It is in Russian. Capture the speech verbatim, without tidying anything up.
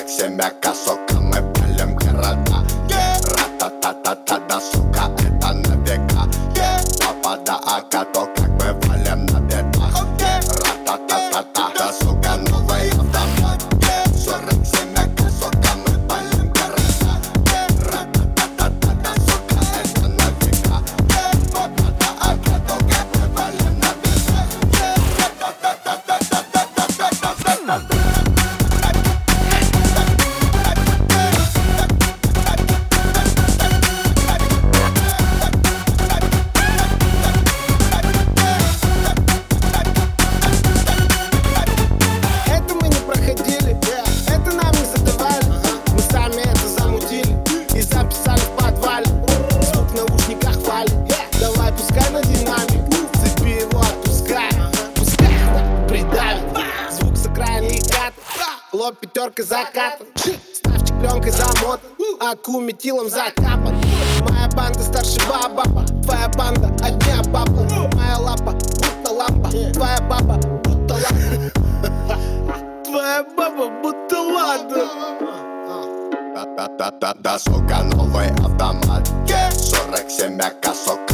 сорок семь ака, сука, мы палим города. Ра-та-та-та-та, да, сука, это на века. Папа да ака, то как мы валим на бедах. Ра-та-та-та-та, да, сука, новый автомат. Сорок семь ака, сука, мы палим города. Ра-та-та-та-та, да, сука, это на века. Папа да ака, то как мы валим на бедах. Ра-та-та-та-та-та-та-та-та-та-та. Лоб пятерка закатан, ставчик пленкой замотан, аку метилом закапан. Моя банда старше баба, твоя банда одня баба. Моя лапа будто лампа, твоя баба будто лампа. Твоя баба будто ладно. Да-да-да-да, сука, новый автомат. Сорок семь ака, сука.